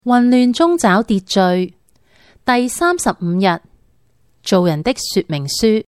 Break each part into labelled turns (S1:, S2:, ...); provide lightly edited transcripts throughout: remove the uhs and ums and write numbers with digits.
S1: 混亂中找秩序，第35日，做人的說明書。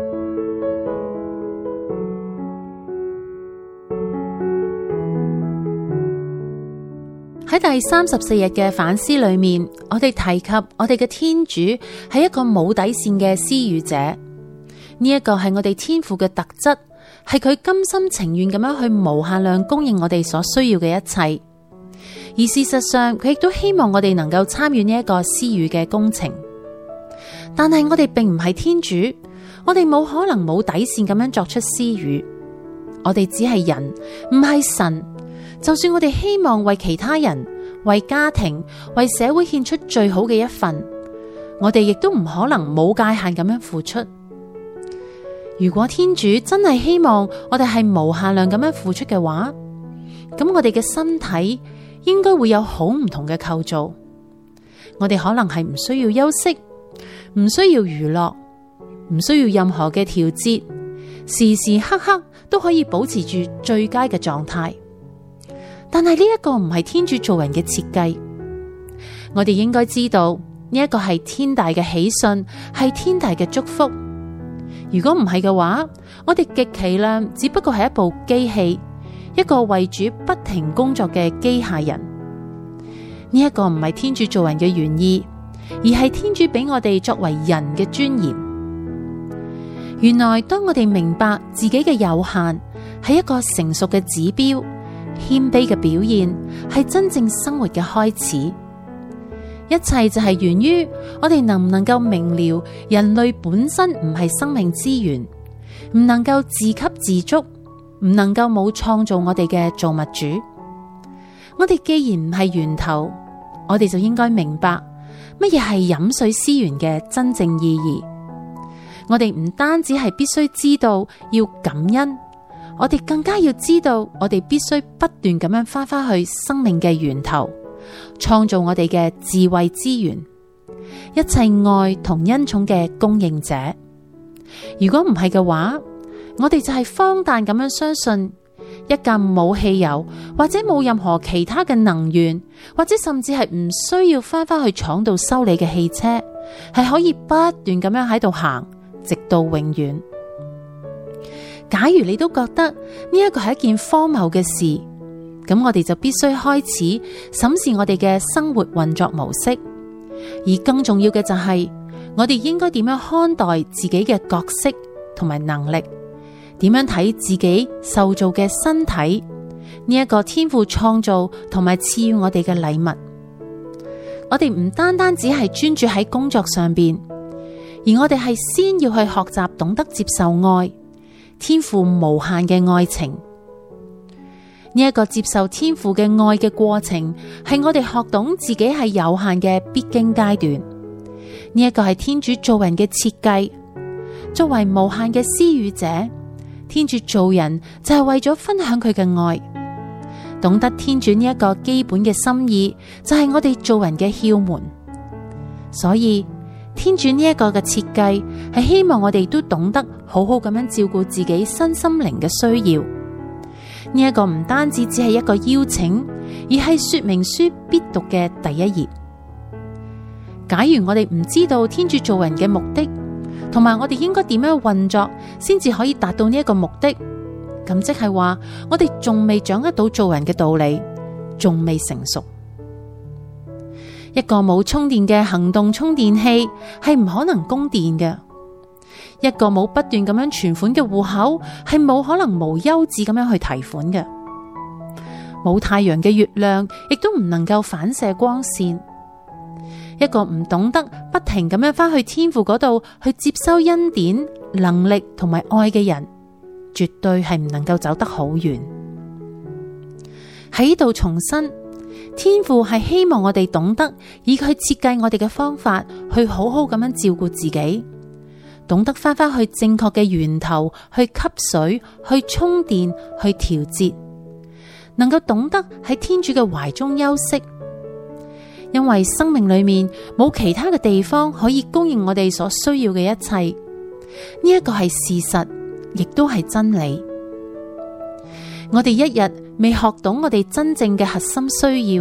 S1: 喺第34日嘅反思裏面，我哋提及我哋嘅天主係一個冇底線嘅施予者，呢一個係我哋天父嘅特質，係佢甘心情願咁樣去無限量供應我哋所需要嘅一切。而事實上，佢亦都希望我哋能夠參與呢一個施予嘅工程。但係我哋並唔係天主，我哋冇可能冇底線咁樣作出施予。我哋只係人，唔係神。就算我哋希望為其他人、為家庭、為社會獻出最好嘅一份，我哋亦都唔可能冇界限咁樣付出。如果天主真係希望我哋係無限量咁樣付出嘅話，咁我哋嘅身體應該會有好唔同嘅構造。我哋可能係唔需要休息，唔需要娛樂，唔需要任何嘅調節，時時刻刻都可以保持住最佳嘅狀態。但係呢一個唔係天主做人嘅設計。我哋應該知道呢一個係天大嘅喜訊，係天大嘅祝福。如果唔係嘅話，我哋極其量只不過係一部機器，一個為主不停工作嘅機械人。呢一個唔係天主做人嘅原意，而係天主俾我哋作為人嘅尊嚴。原來當我哋明白自己嘅有限係一個成熟嘅指標，謙卑嘅表現係真正生活嘅開始。一切就係源於我哋能唔能夠明了人類本身唔係生命資源，唔能夠自給自足，唔能夠冇創造我哋嘅造物主。我哋既然唔係源頭，我哋就應該明白乜嘢係飲水思源嘅真正意義。我哋唔單止係必須知道要感恩，我哋更加要知道，我哋必須不斷咁樣返去生命嘅源頭，創造我哋嘅智慧資源，一切愛同恩寵嘅供應者。如果唔係嘅話，我哋就係荒誕咁樣相信一架冇汽油或者冇任何其他嘅能源，或者甚至係唔需要返去廠度修理嘅汽車，係可以不斷咁樣喺度行，直到永遠。假如你都覺得呢一個係一件荒謬嘅事，咁我哋就必須開始審視我哋嘅生活運作模式，而更重要嘅就係我哋應該點樣看待自己嘅角色同埋能力，點樣睇自己受造嘅身體，呢一個天父創造同埋賜予我哋嘅禮物。我哋唔單單只係專注喺工作上邊，而我哋係先要去學習懂得接受愛，天父無限嘅愛情。呢一個接受天父嘅愛嘅過程，係我哋學懂自己係有限嘅必經階段。呢一個係天主做人嘅設計。作為無限嘅施予者，天主做人就係為咗分享佢嘅愛。懂得天主呢一個基本嘅心意，就係我哋做人嘅竅門。所以天主呢一個嘅設計係希望我哋都懂得好好咁樣照顧自己身心靈嘅需要。呢一個唔單止只係一個邀請，而係說明書必讀嘅第一頁。假如我哋唔知道天主做人嘅目的，同埋我哋應該點樣運作先至可以達到呢一個目的，咁即係話我哋仲未掌握到做人嘅道理，仲未成熟。一個冇充電嘅行動充電器係唔可能供電嘅。一個冇不斷咁樣存款嘅戶口係冇可能無休止咁樣去提款嘅。冇太陽嘅月亮亦都唔能夠反射光線。一個唔懂得不停咁樣返去天父嗰度去接收恩典、能力同埋愛嘅人，絕對係唔能夠走得好遠。喺呢度重申，天父係希望我哋懂得以佢設計我哋嘅方法去好好咁樣照顧自己，懂得返去正確嘅源頭去吸水、去充電、去調節，能夠懂得喺天主嘅懷中休息。因為生命裏面冇其他嘅地方可以供應我哋所需要嘅一切，呢一個係事實，亦都係真理。我哋一日未學懂我哋真正嘅核心需要，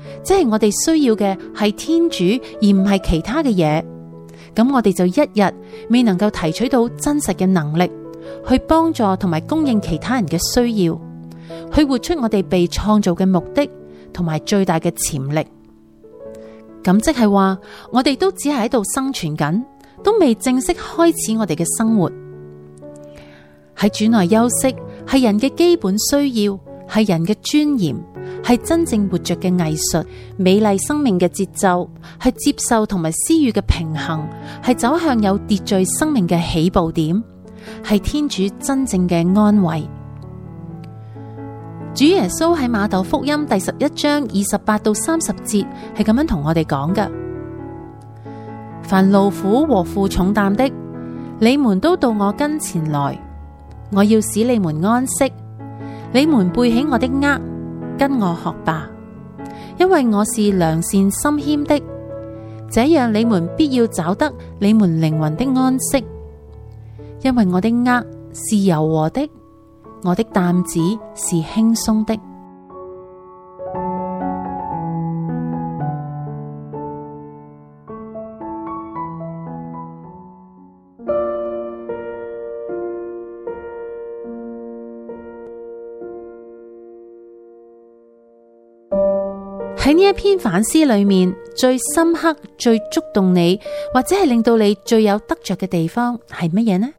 S1: 即係我哋需要嘅係天主，而唔係其他嘅嘢，咁我哋就一日未能夠提取到真實嘅能力，去幫助同埋供應其他人嘅需要，去活出我哋被創造嘅目的同埋最大嘅潛力。咁即係話，我哋都只係喺度生存緊，都未正式開始我哋嘅生活。喺主內休息係人嘅基本需要，係人嘅尊嚴，係真正活着嘅藝術，美麗生命嘅節奏，係接受同埋施予嘅平衡，係走向有秩序生命嘅起步點，係天主真正嘅安慰。主耶穌喺馬竇福音第11章28到30節係咁樣同我哋講嘅：凡勞苦和負重擔的，你們都到我跟前來，我要使你們安息。你們背起我的軛，跟我學吧，因為我是良善心謙的，這樣你們必要找得你們靈魂的安息。因為我的軛是柔和的，我的擔子是輕鬆的。喺呢一篇反思裏面，最深刻、最觸動你，或者係令到你最有得着嘅地方係乜嘢呢？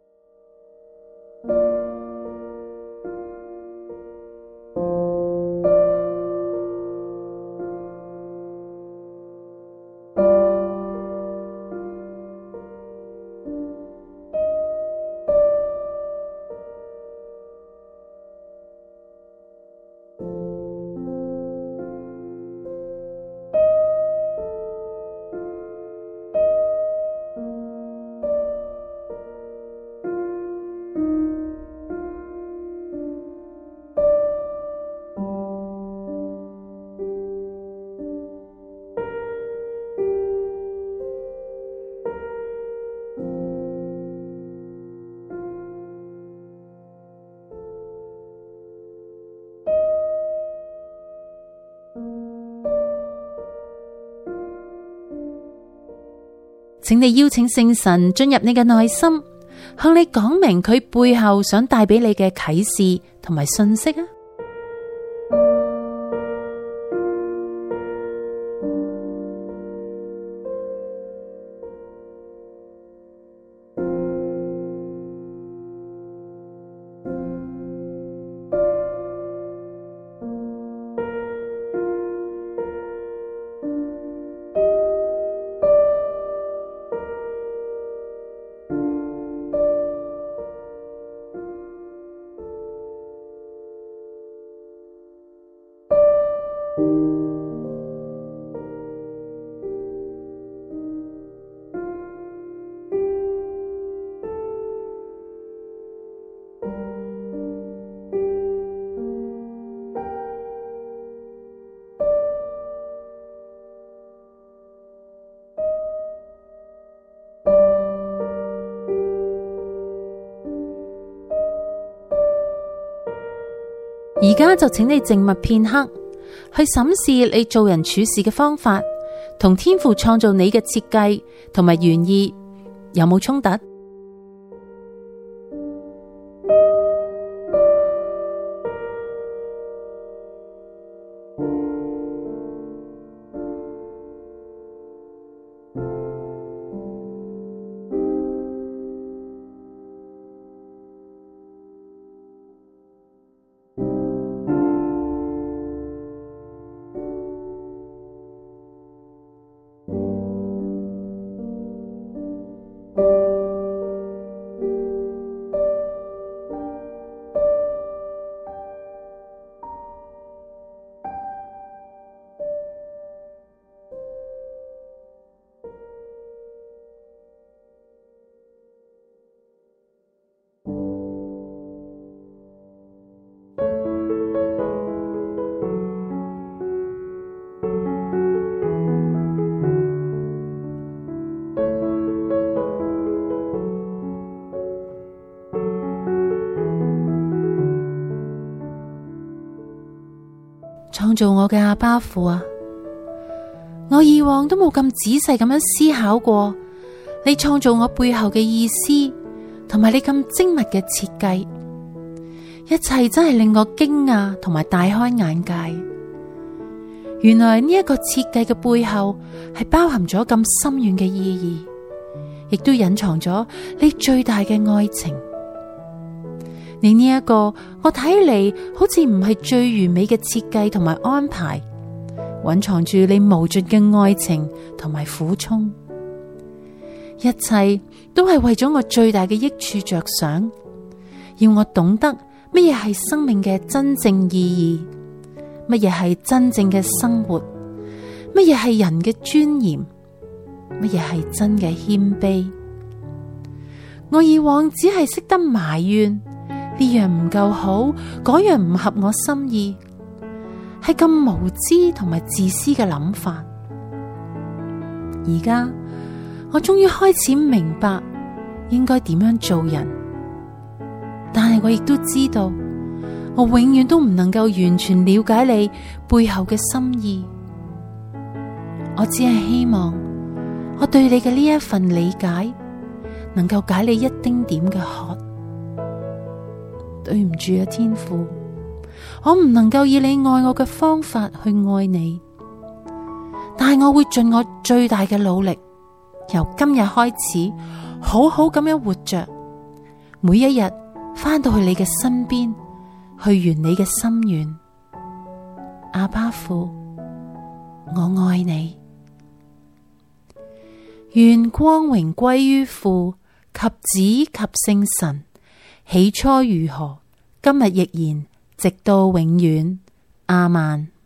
S1: 請你邀請聖神進入你嘅內心，向你講明佢背後想帶俾你嘅啟示同埋信息啊！而家就請你靜默片刻，去審視你做人處事嘅方法，同天父創造你嘅設計同埋原意有冇衝突？創造我嘅阿爸父啊， 我以往都冇咁仔細咁樣思考過你創造我背後嘅意思，同埋你咁精密嘅設計，一切真係令我驚訝同埋大開眼界。原來呢一個設計嘅背後係包含咗咁深遠嘅意義，亦都隱藏咗你最大嘅愛情。你呢一個我睇嚟好似唔係最完美嘅設計同埋安排，蘊藏住你無盡嘅愛情同埋苦衷，一切都係為咗我最大嘅益處着想，要我懂得乜嘢係生命嘅真正意義，乜嘢係真正嘅生活，乜嘢係人嘅尊嚴，乜嘢係真嘅謙卑。我以往只係識得埋怨呢樣唔夠好，嗰樣唔合我心意，係咁無知同埋自私嘅諗法。而家我終於開始明白應該點樣做人，但係我亦都知道，我永遠都唔能夠完全了解你背後嘅心意。我只係希望我對你嘅呢一份理解，能夠解你一丁點嘅渴。對唔住啊，天父，我唔能夠以你愛我嘅方法去愛你，但係我會盡我最大嘅努力，由今日開始好好咁樣活着，每一日返到去你嘅身邊，去圓你嘅心願。阿爸父，我愛你。願光榮歸於父及子及聖神，起初如何，今日亦然，直到永遠。阿們。